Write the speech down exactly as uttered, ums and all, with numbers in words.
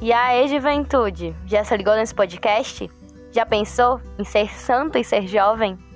E aí, juventude, já se ligou nesse podcast? Já pensou em ser santo e ser jovem?